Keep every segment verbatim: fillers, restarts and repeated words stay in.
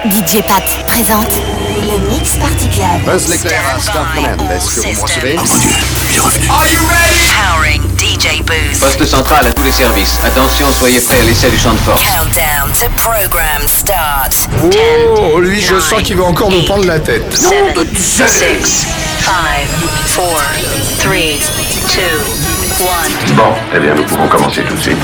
D J Pat présente le Mix Party Club. Buzz l'éclair à Star Command. Est-ce que vous me recevez? Oh mon Dieu, il est revenu. Are you ready? Powering D J Booth. Poste central à tous les services. Attention, soyez prêts à l'essai du champ de force. Countdown to program start. Oh, lui, je sens qu'il va encore nous prendre la tête. seven, six, five, four, three, two, one. Bon, eh bien, nous pouvons commencer tout de suite.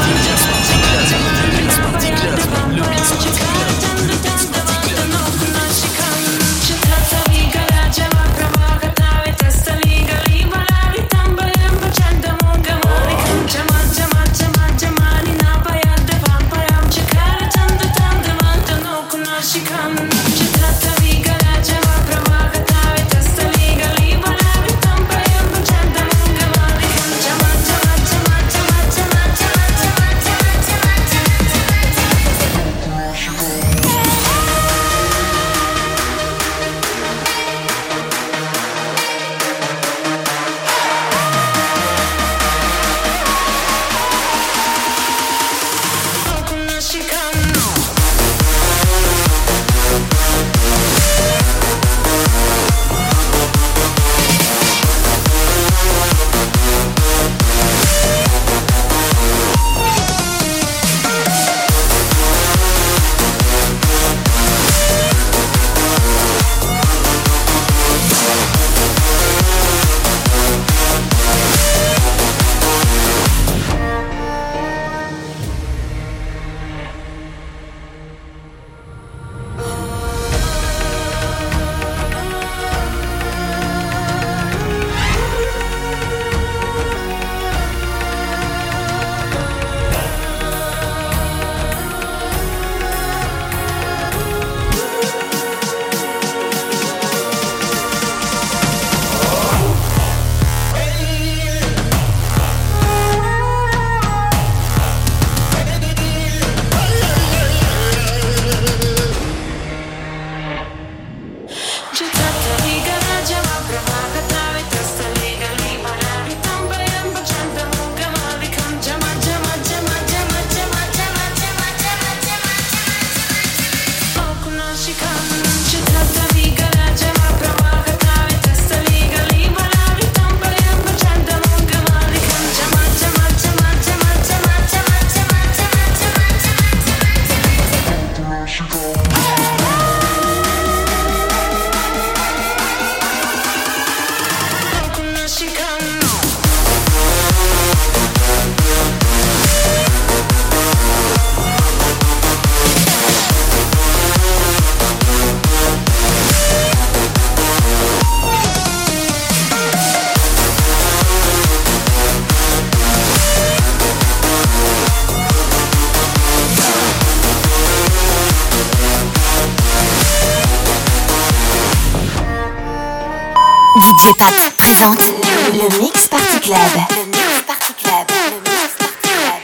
D J Pat présente le Mix Party Club. Le Mix Party Club. Le Mix Party Club.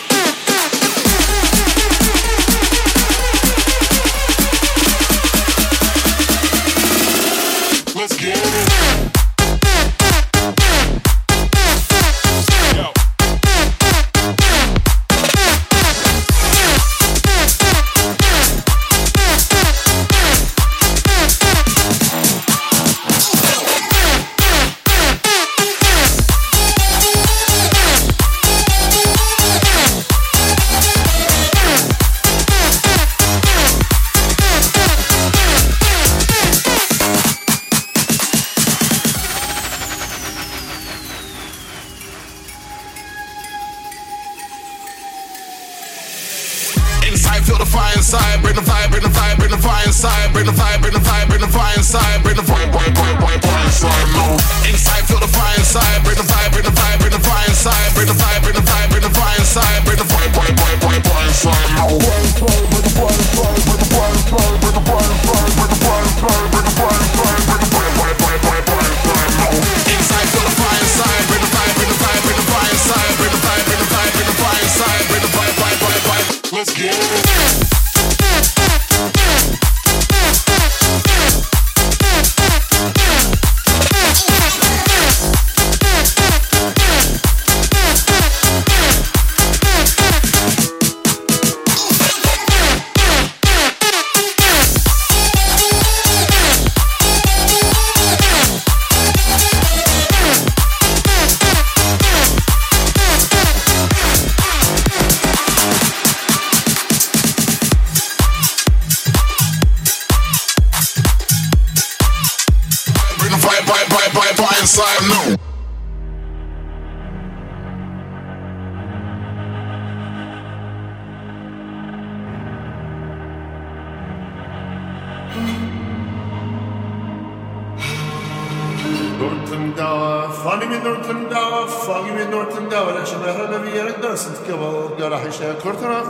Let's get it. Feel the fire inside, bring the vibe, bring the vibe, bring the fire inside, bring the vibe, bring the vibe, bring the fire inside, bring the vibe, vibe, vibe, vibe, vibe inside, no. Inside, feel the fire inside, bring the vibe, bring the vibe, bring the fire inside, bring the vibe, bring the vibe, bring the fire inside, bring the vibe, vibe, vibe, vibe, vibe inside, no. Bring the fire inside, bring the fire inside, bring the fire inside, bring the fire inside, bring the fire inside, bring the fire inside, bring the vibe, vibe, vibe, vibe inside, no. Inside, feel the fire inside, bring the vibe, bring the vibe, bring the fire inside, bring the vibe, bring the vibe, bring the fire inside, bring the vibe, vibe, vibe, vibe. Let's get it. boy, boy, boy, boy inside now. Nortendauer, fanny med Nortendauer, fanny med Nortendauer, jag känner hela vi är en dansant kabal, jag har hisha kortarna.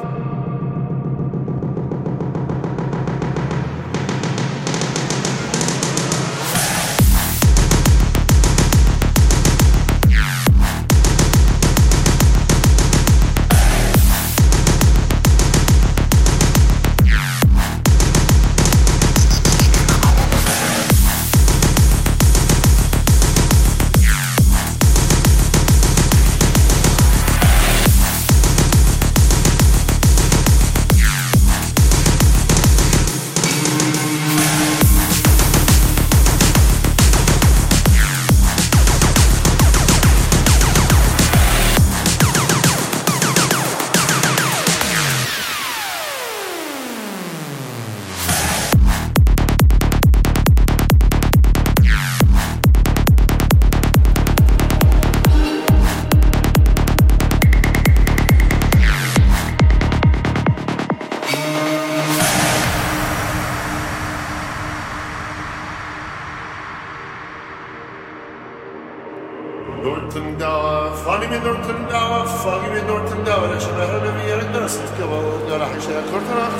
Nortendauer, fanny med Nortendauer, fanny med Nortendauer, jag känner hela vi är en dansant kabal, jag har hisha kortarna.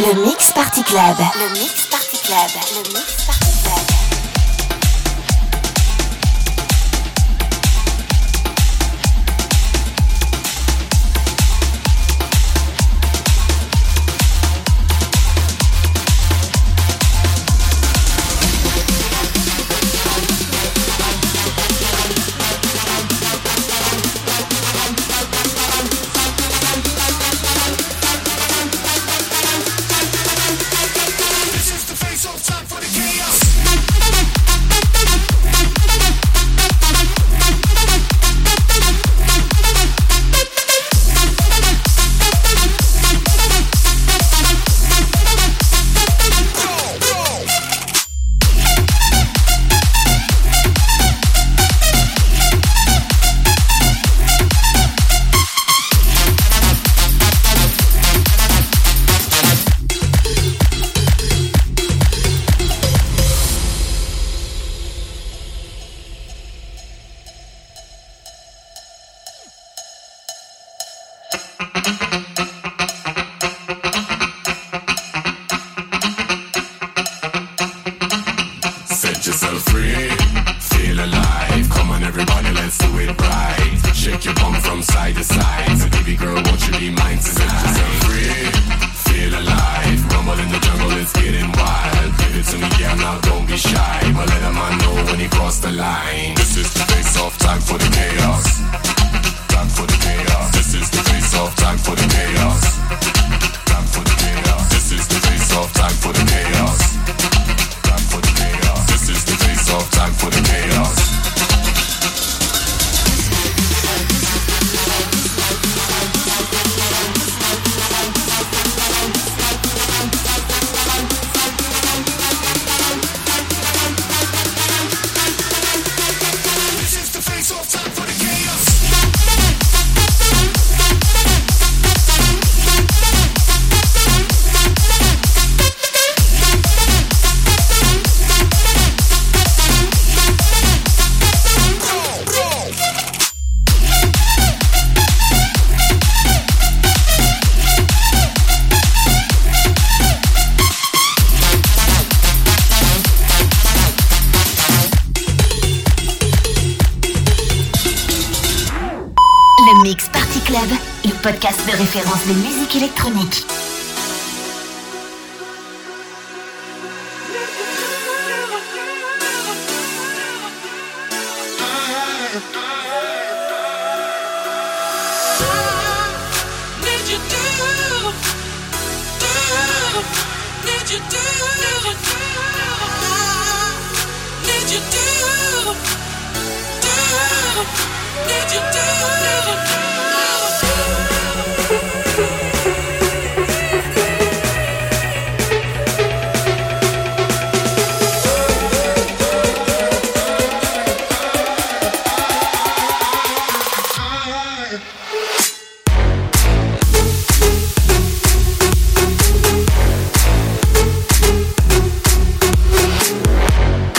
Le Mix Party Club. Le Mix Party Club. Le Mix Party Club. Podcast de référence de musique électronique.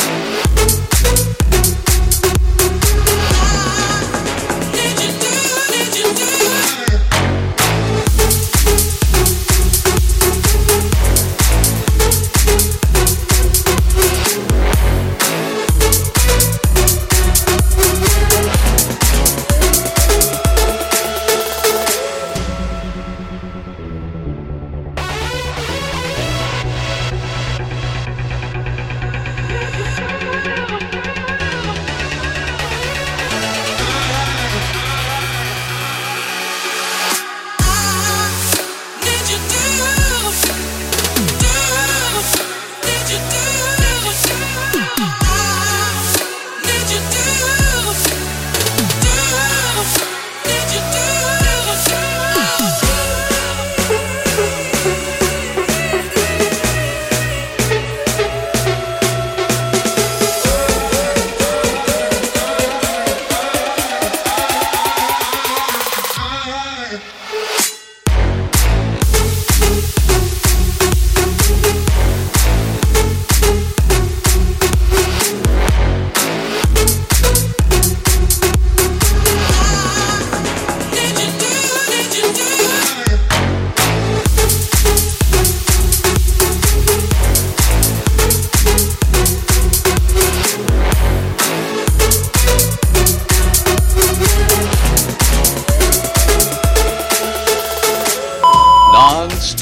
Did you do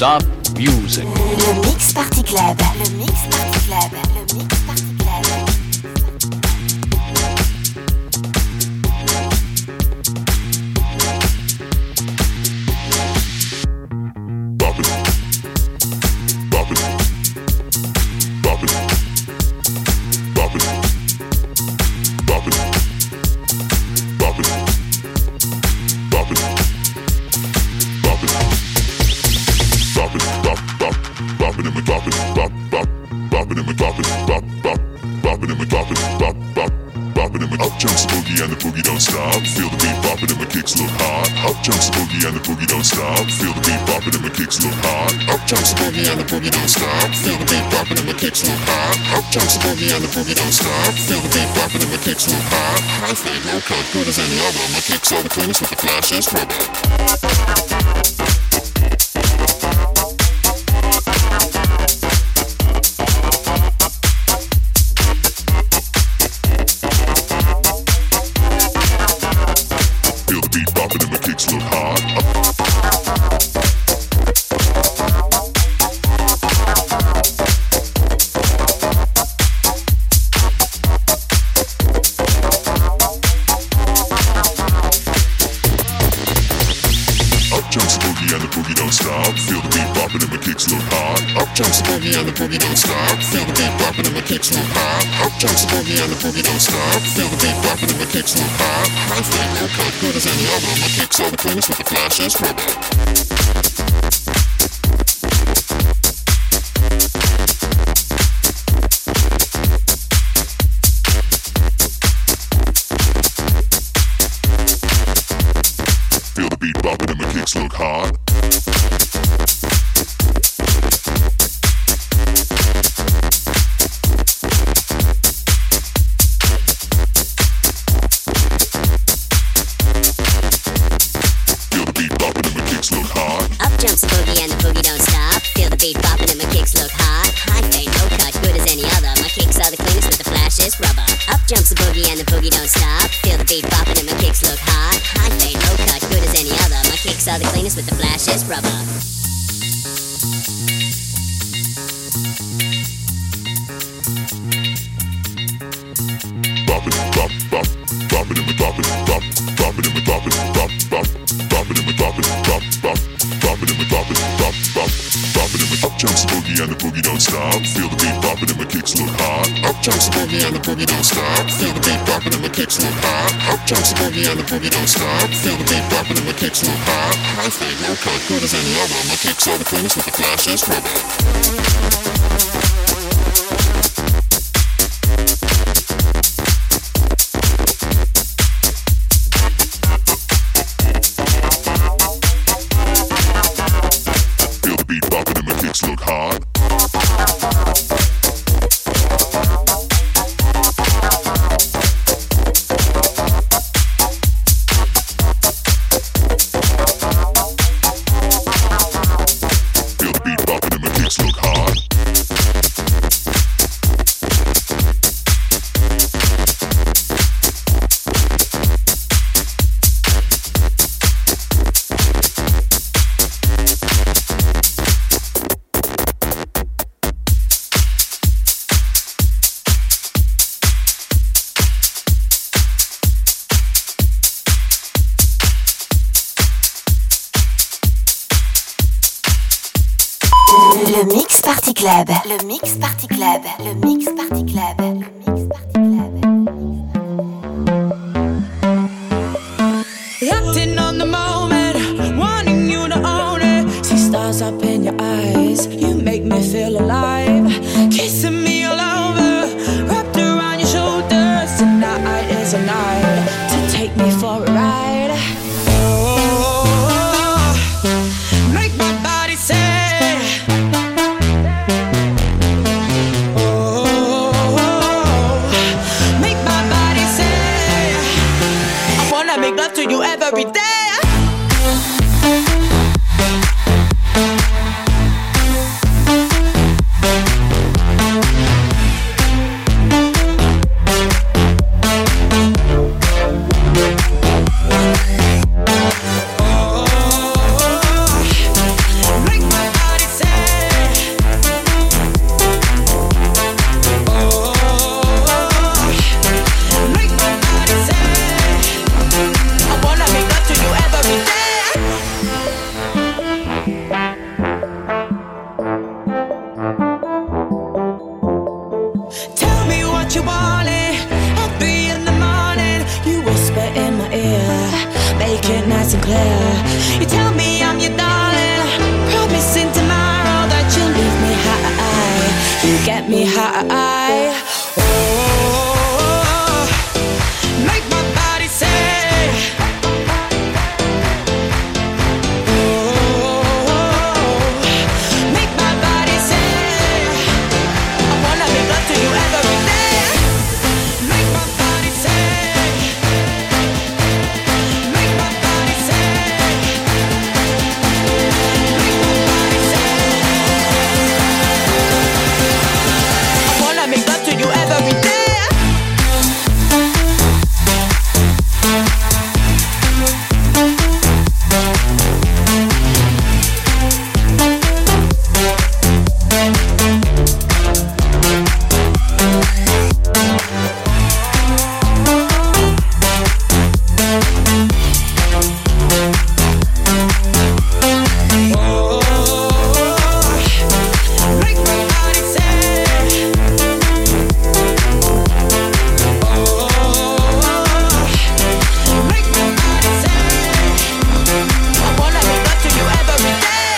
Stop music. Le Mix Party Club. Le Mix Party Club. Le Mix Party Club. Good as any other, my kicks are the cleanest with the flashes rubber. Le Mix Party Club. Le Mix Party Club. Le Mix Party Club. Le Mix Party Club. Acting on the moment, wanting you to own it. See stars up in your eyes, you make me feel alive. Kissing me all over, wrapped around your shoulders. Tonight is a night to take me for a ride. Oh, make my body say. Make love to you every day. Oh, make my body say. Oh, make my body say. I wanna make love to you every day. Make my body say. Make my body say. Make my body say. I wanna make love to you every day. Make my body say. Make my body say. I wanna make love to you every day.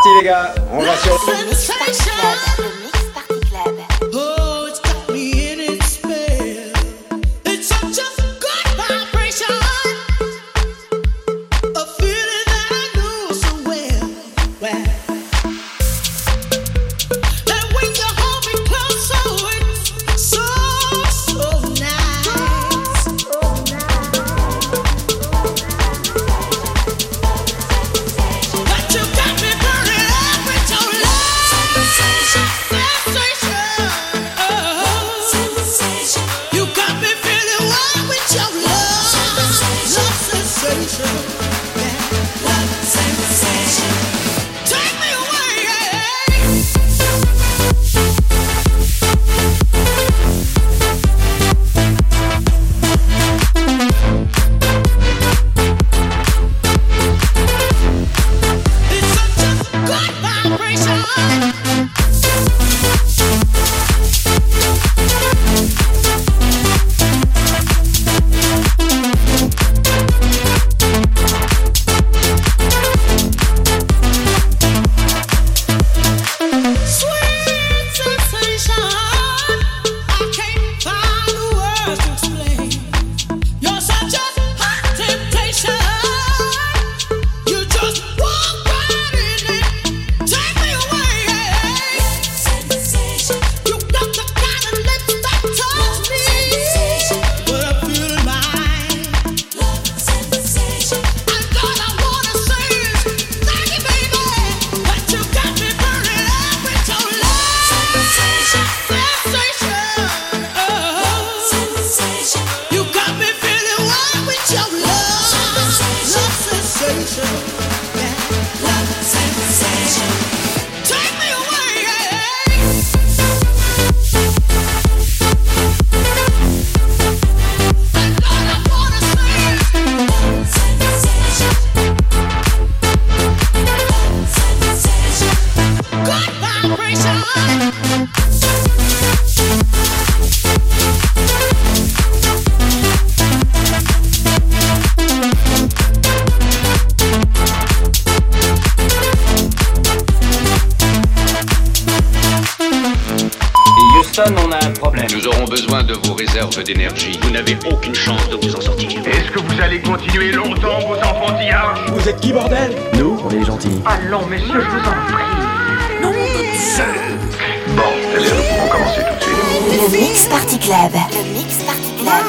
parti les gars, on va sur Le Mix Party Club. Le Mix Party Club. Oh, it's got me in its spell. It's such a good vibration. A feeling that I know so well. Well, and when you hold me close, so it's so, so nice. But you got me burning up with your love. Sensation. Oh. You got me feeling wild with your love. Love sensation. Yeah. Love sensation. Take me away. It's such a good vibration. Sweet sensation, I can't find the words to explain. You're such a hot temptation. You just walk right in it, take me away. You got the kind of lips that touch me, but I'm feeling mine. And all I wanna say is thank you, baby, that you got me burning up with your love. Sensation. Oh. You got me feeling wild with your love. Love sensation. Yeah. Love sensation. Take me away. And all I wanna say is good vibration. Houston, on a un problème. Nous aurons besoin de vos réserves d'énergie. Vous n'avez aucune chance de vous en sortir. Est-ce que vous allez continuer longtemps vos enfantillages? Vous êtes qui bordel? Nous, on est gentils. Allons, messieurs, je vous en prie. Bon, eh bien, nous pouvons commencer tout de suite. Le Mix Party Club. Le Mix Party Club.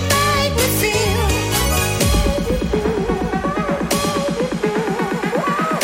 Feel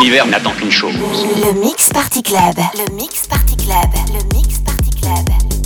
l'univers n'attend qu'une chose. Le Mix Party Club. Le Mix Party Club. Le Mix Party Club.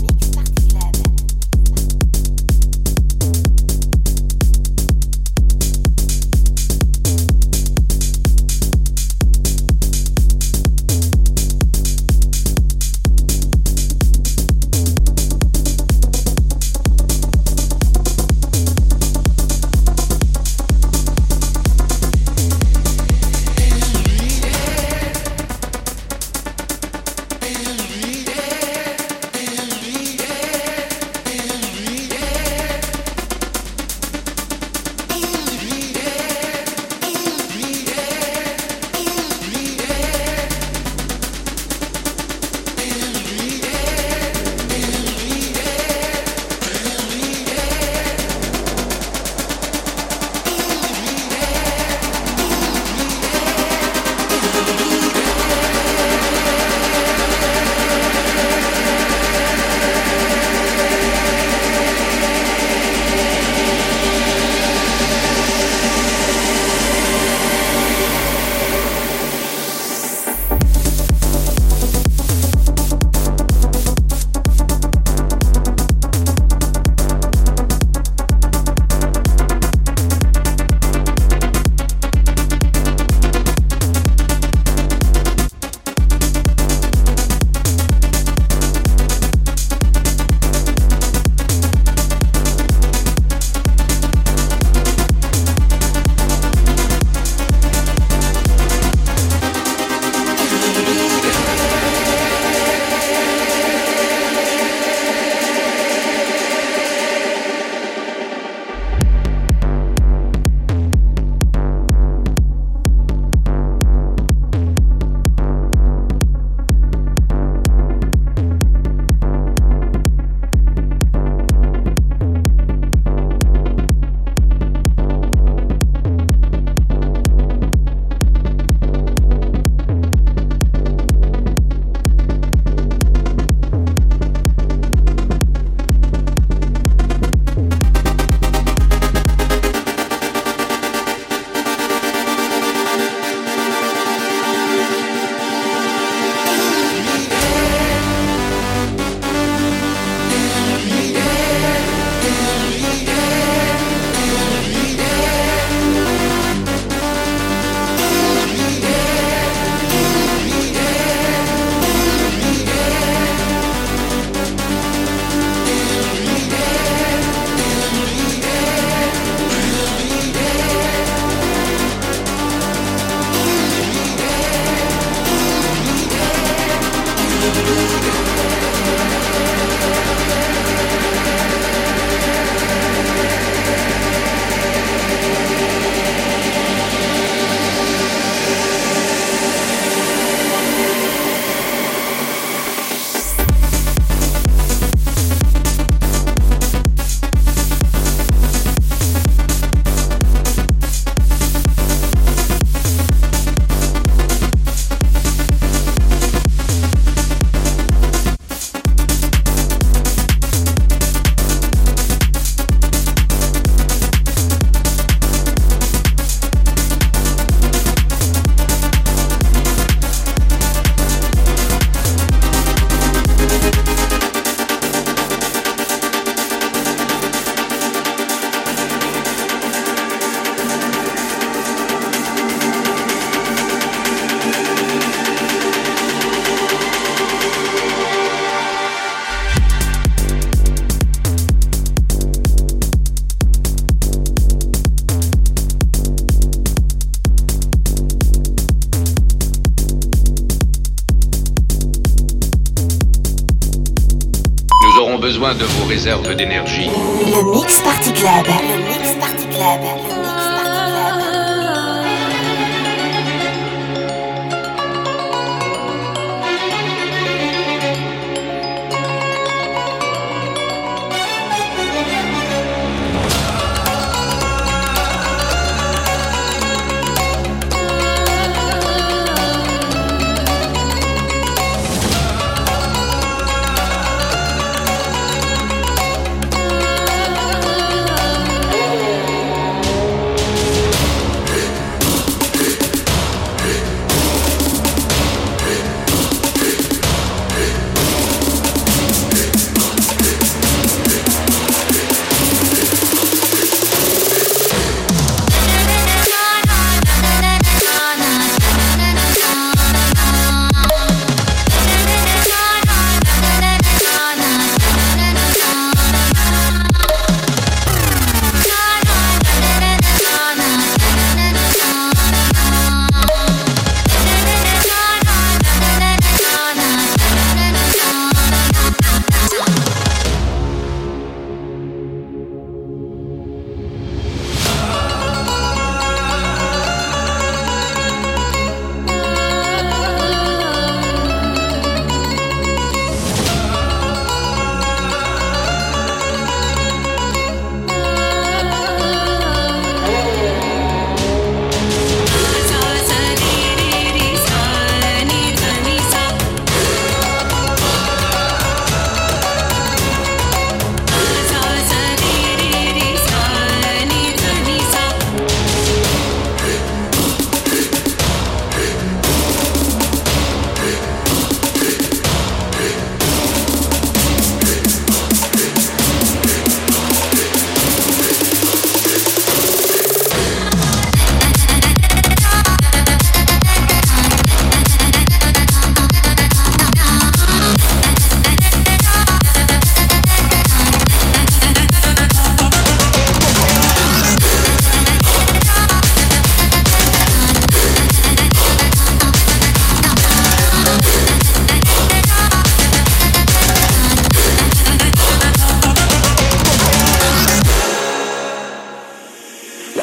Besoin de vos réserves d'énergie. Le Mix Party Club. Le Mix Party Club. Le Mix Party Club.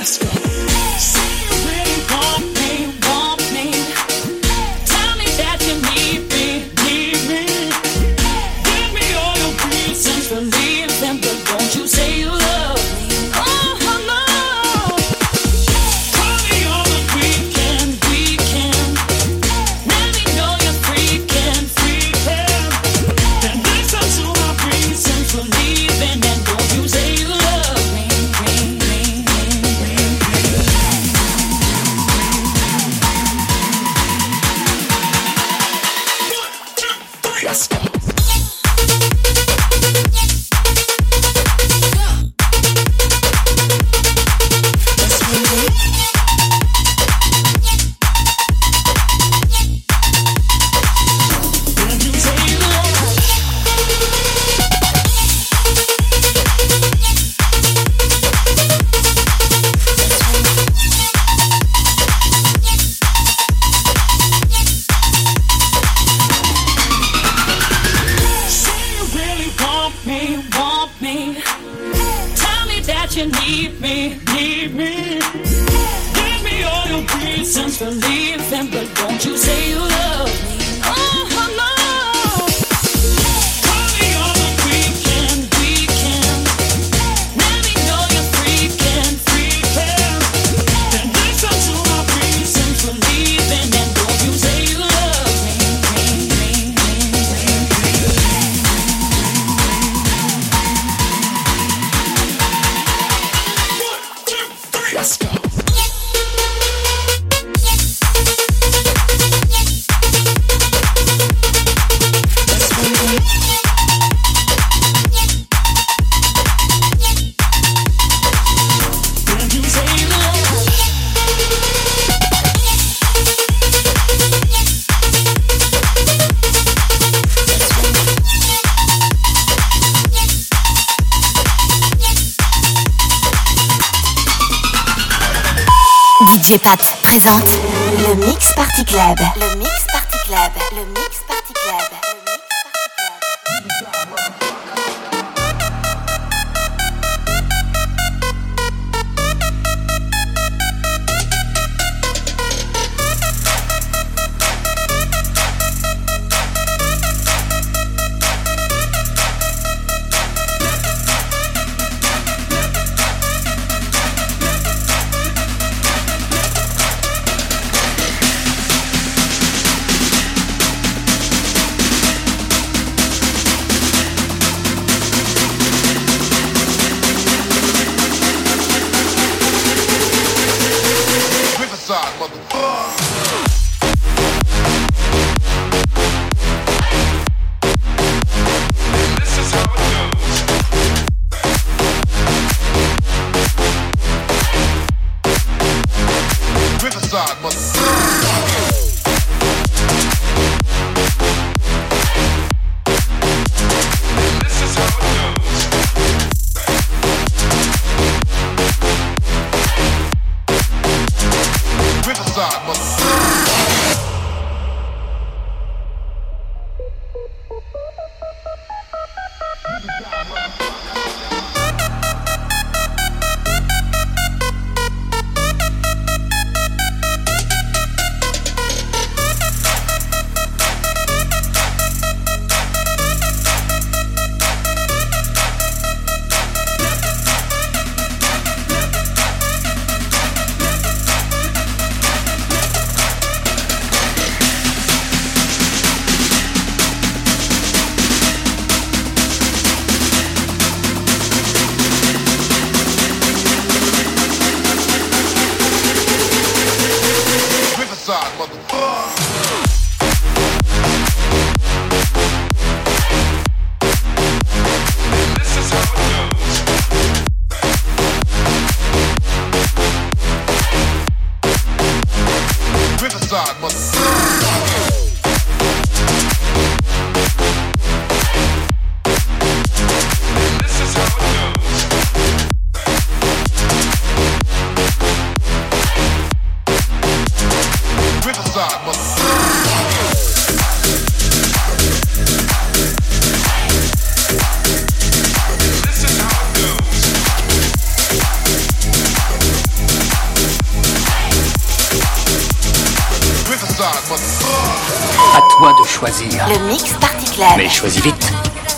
D J Pat présente le Mix Party Club. Le Mix Party Club. Le Mix Party Club. À toi de choisir. Le Mix Party Club. Mais choisis vite.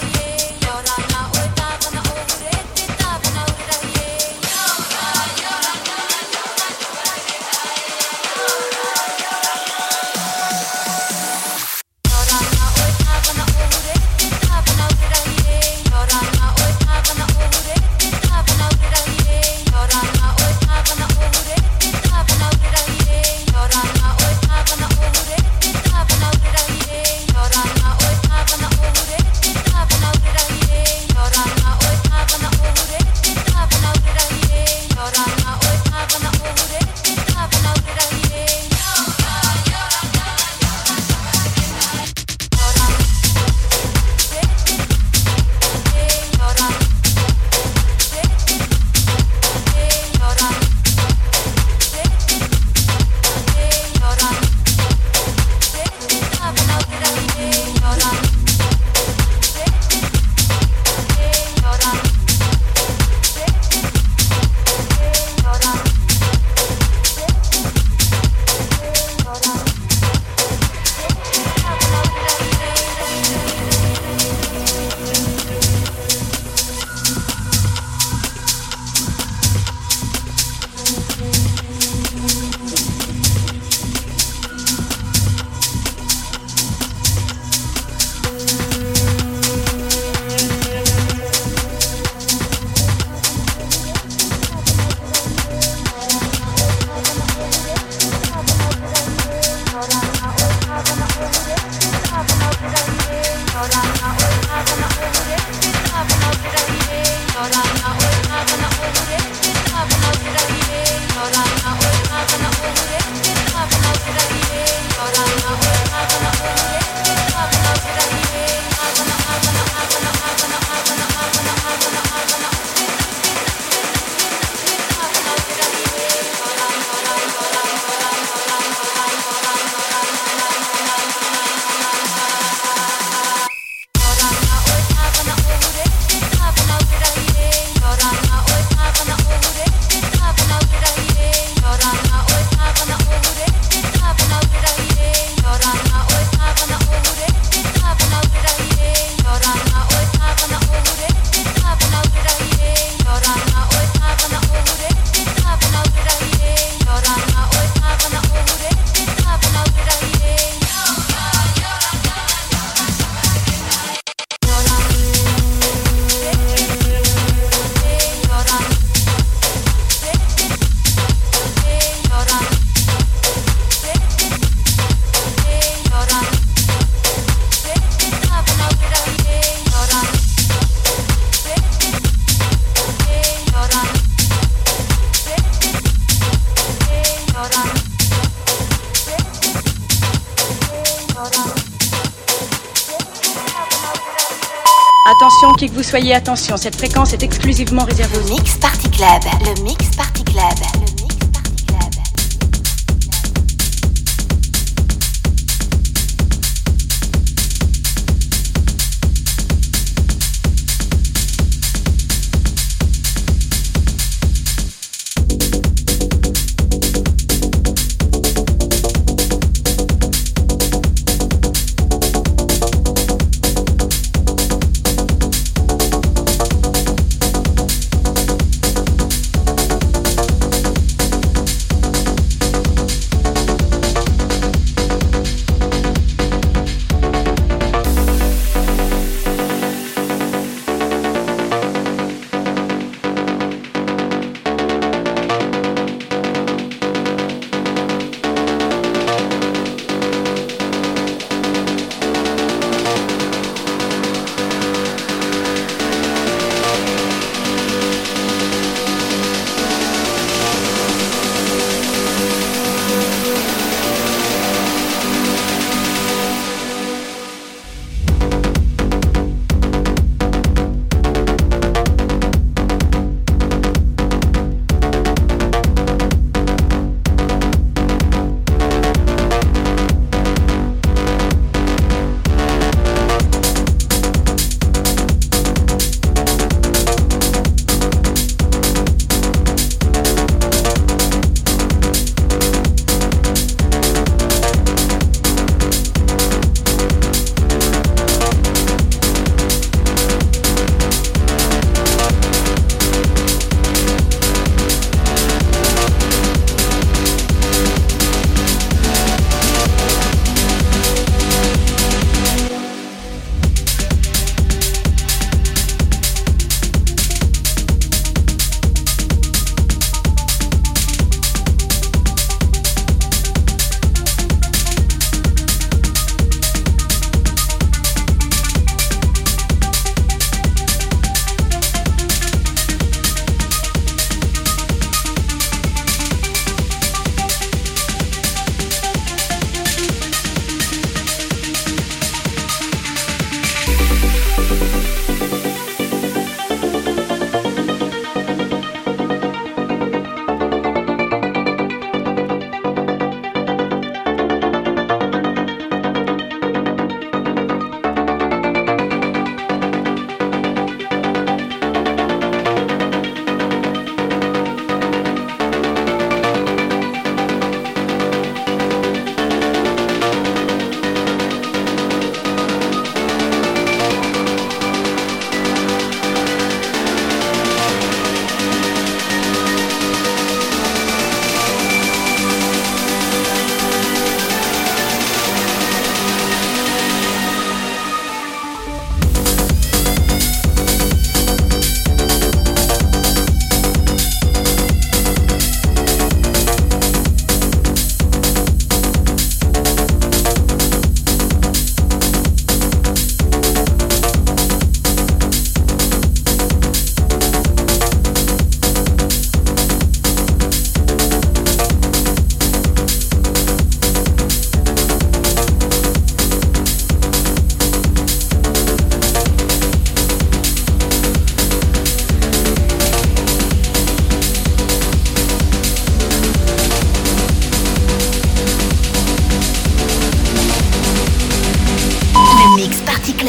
Attention, qui que vous soyez, attention, cette fréquence est exclusivement réservée au Mix Party Club. Le Mix Party Club. Le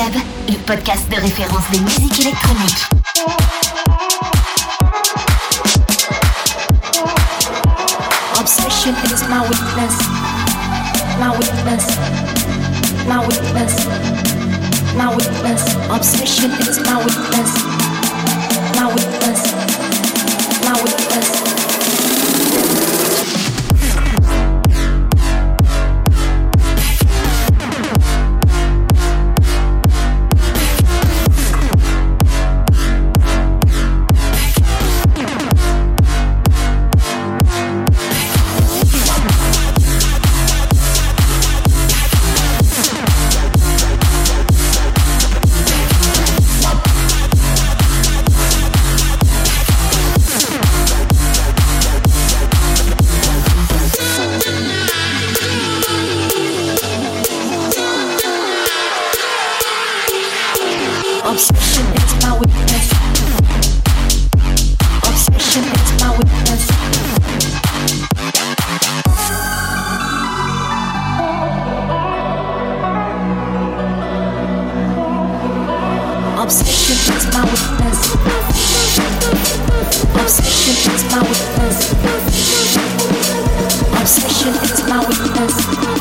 Club, le podcast de référence des musiques électroniques. Obsession is my weakness, my weakness, my weakness, my weakness. Obsession is my weakness, my weakness, my weakness. Obsession is my weakness. Obsession is my weakness. Obsession is my weakness. Obsession is my weakness. Obsession is my weakness.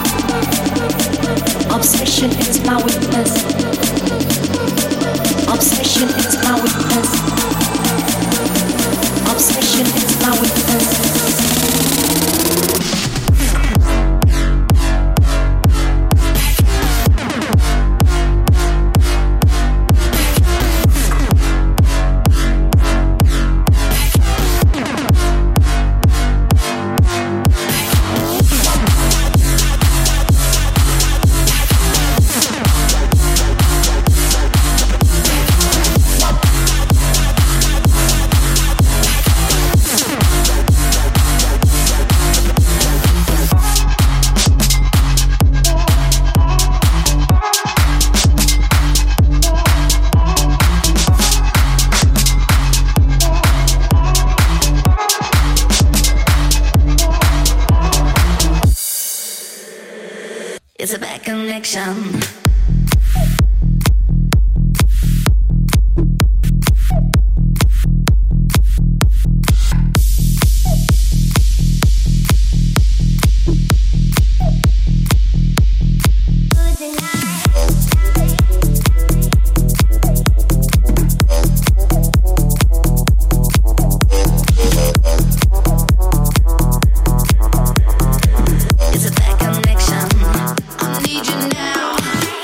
Obsession is my weakness. Obsession is my weakness. Obsession is my weakness. It's a bad connection. I need you now.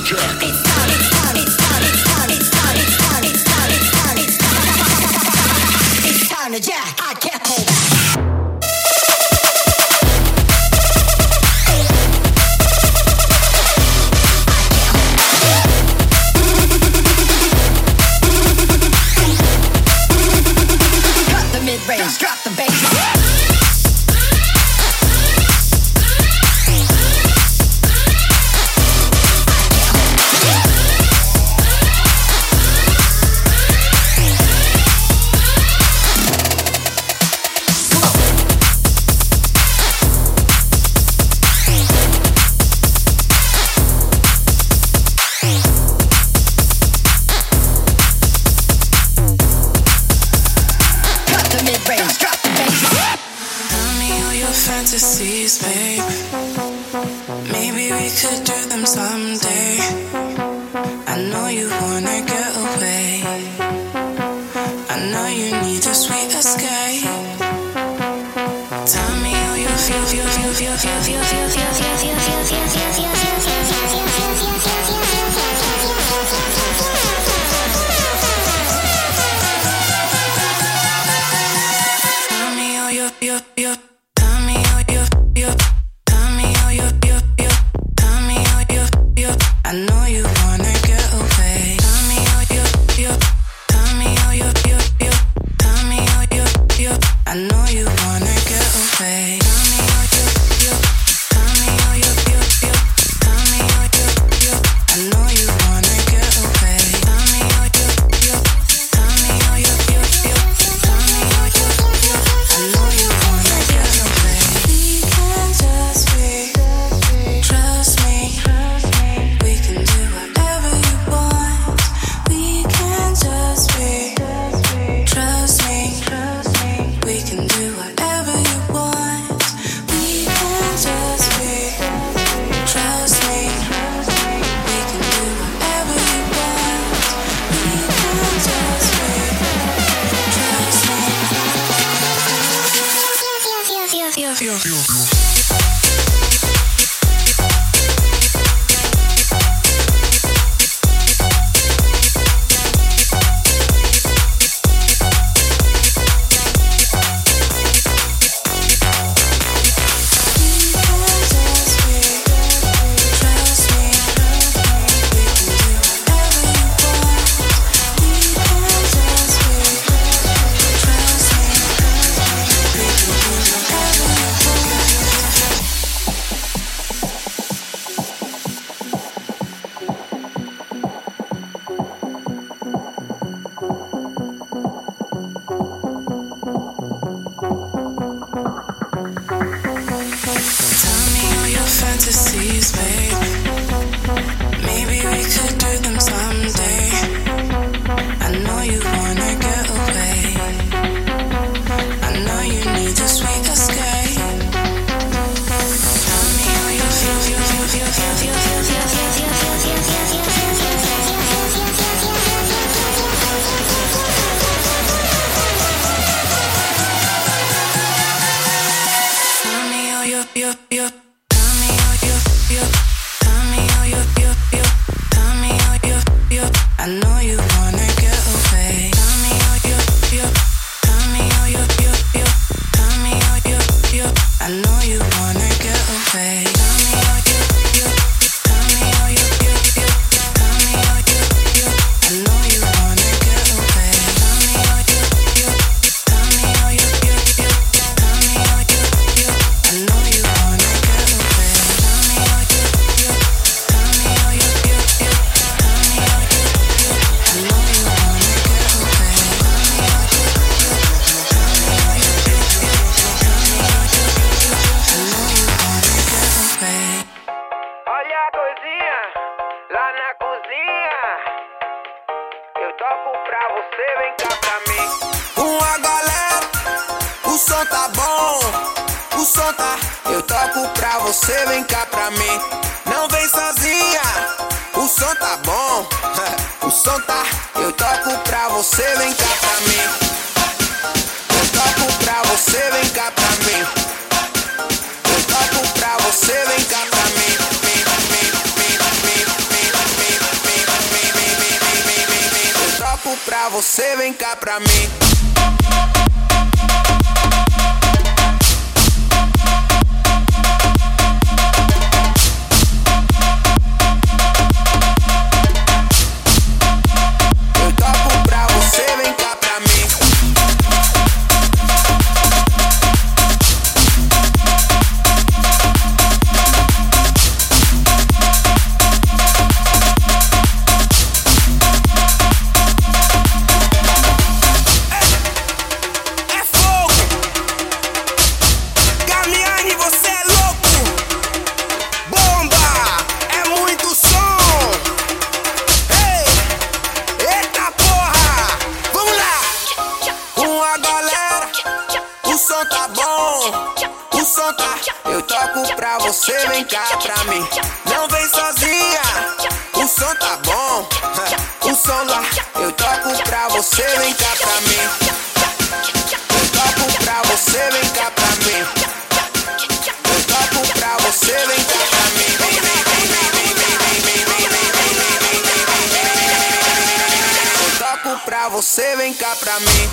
to jack. It's time, it's time, it's time, it's time, it's time, it's time, it's time, it's time, it's time. It's time to jack. I can't hold back. Mid-range, drop the bass. Fantasies, babe. Maybe we could do them someday. I know you wanna get away. I know you need a sweet escape. Tell me how you feel, feel, feel, feel, feel, feel, feel, feel, feel, feel, feel, feel, feel, feel, feel, Tell me how you, you, you. I know you wanna get away. Tell me how you, you. Tell me how you, you, you. Tell me how you, you. I know you wanna get away. Tell me how you, you. Tell me how you, you, you. Tell me how you, you. I know you wanna get away. Tell me how you, you. Tell me how you, you, you. Tell me how you, you. I know you wanna get away. We can just be. Trust me. We can do whatever you want. We can just be. Trust me. We can do whatever you want. We can just be. Trust me. We can do whatever you want. We can just be. Trust me. Feel, feel, feel, feel. Fantasies, babe. Maybe we could do them someday. I know you wanna get away. I know you need a sweet escape. Tell me how you feel, feel, feel, feel, feel, feel, feel, feel, feel, feel, feel, feel, feel, feel, feel, Tell me how you, you, you. Tell me how you, you. Tell me how you, you, you. Tell me how you, you. I know you wanna get away. Tell me how you, you. Tell me how you, you, you. Tell me how you, you. I know you wanna get away. Tell me how you, you. Tell me how you, you, you. Tell me how you, you. I know you wanna get away. Tell me how you, you. Tell me how you, you, you. Tell me how you, you. I know you wanna get away. Tell me how you, you. Tell me how you, you, you. Tell me how you, you. I know you wanna get away. Tell me how you, you. Tell me how you, you, you. Tell me how you, you, you. I know you wanna get away. Olha a coisinha lá na cozinha. Eu toco pra você, vem cá pra mim. Uma galera, o som tá bom, o som tá. Eu toco pra você, vem cá pra mim. Não vem sozinha, o som tá bom, o som tá. Eu toco pra você, vem cá pra mim. Eu toco pra você, vem cá pra mim. Eu toco pra você, vem cá pra mim. pra você, vem cá pra mim. Eu toco pra você, vem cá pra mim. Você vem cá pra mim, não vem sozinha. O som tá bom, o som lá. Eu toco pra você, vem cá pra mim. Eu toco pra você, vem cá pra mim. Eu toco pra você, vem cá pra mim. Eu toco pra você, vem cá pra mim.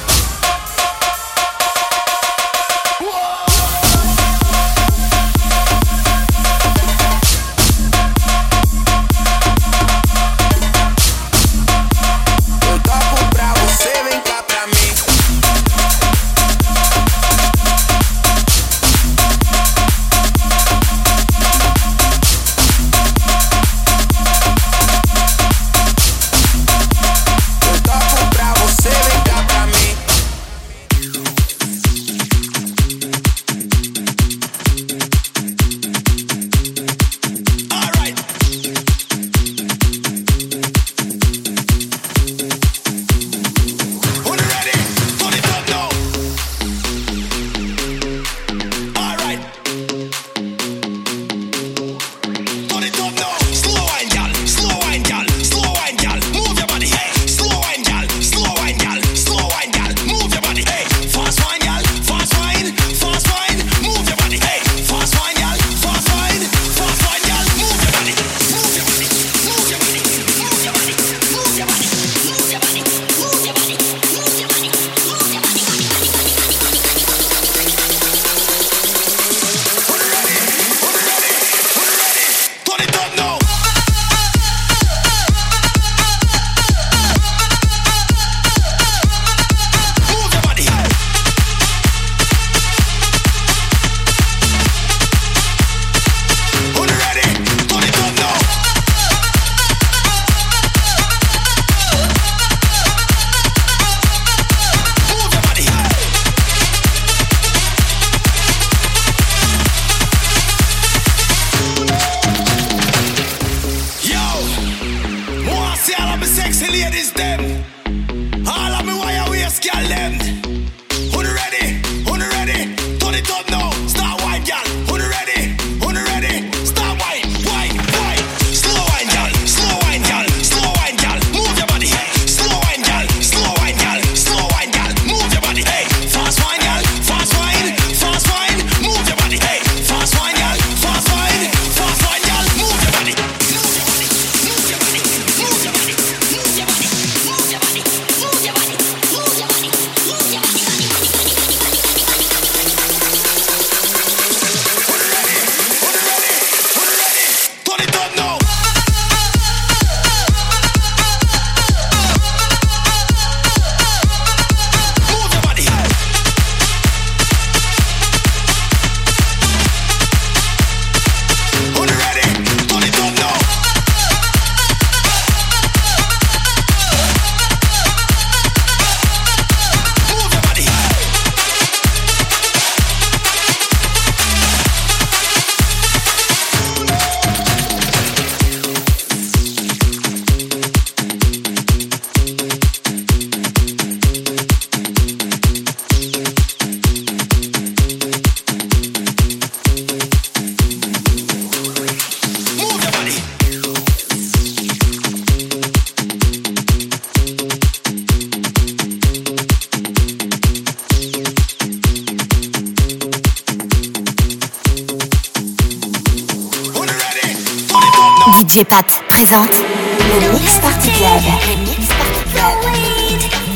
D J Pat présente le Mix Party Club. Le Mix Party Club.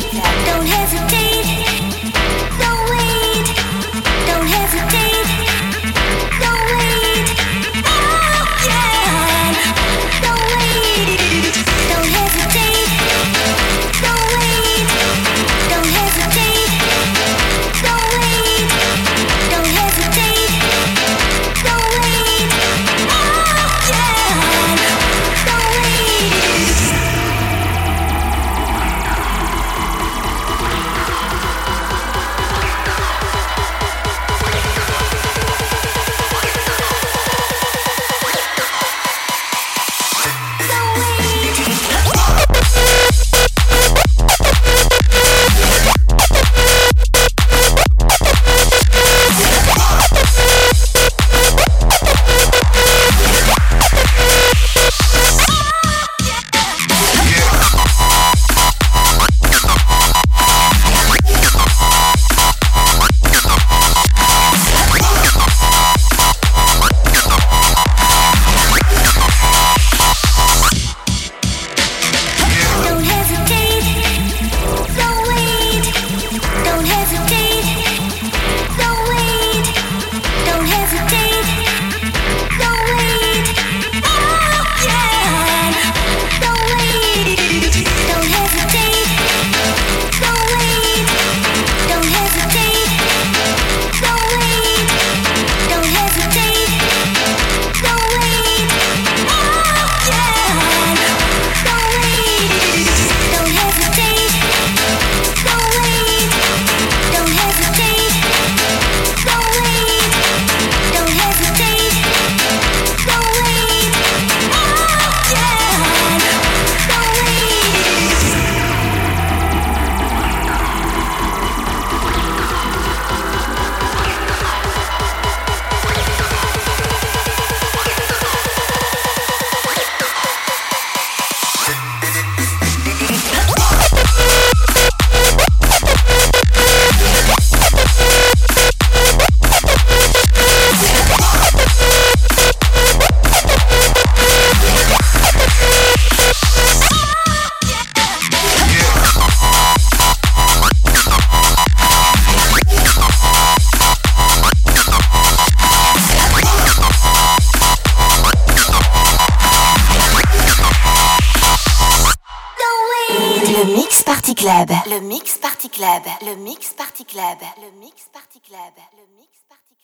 Club. Le Mix Party Club. Le Mix Party Club. Le Mix Party Club. Le Mix Party Club.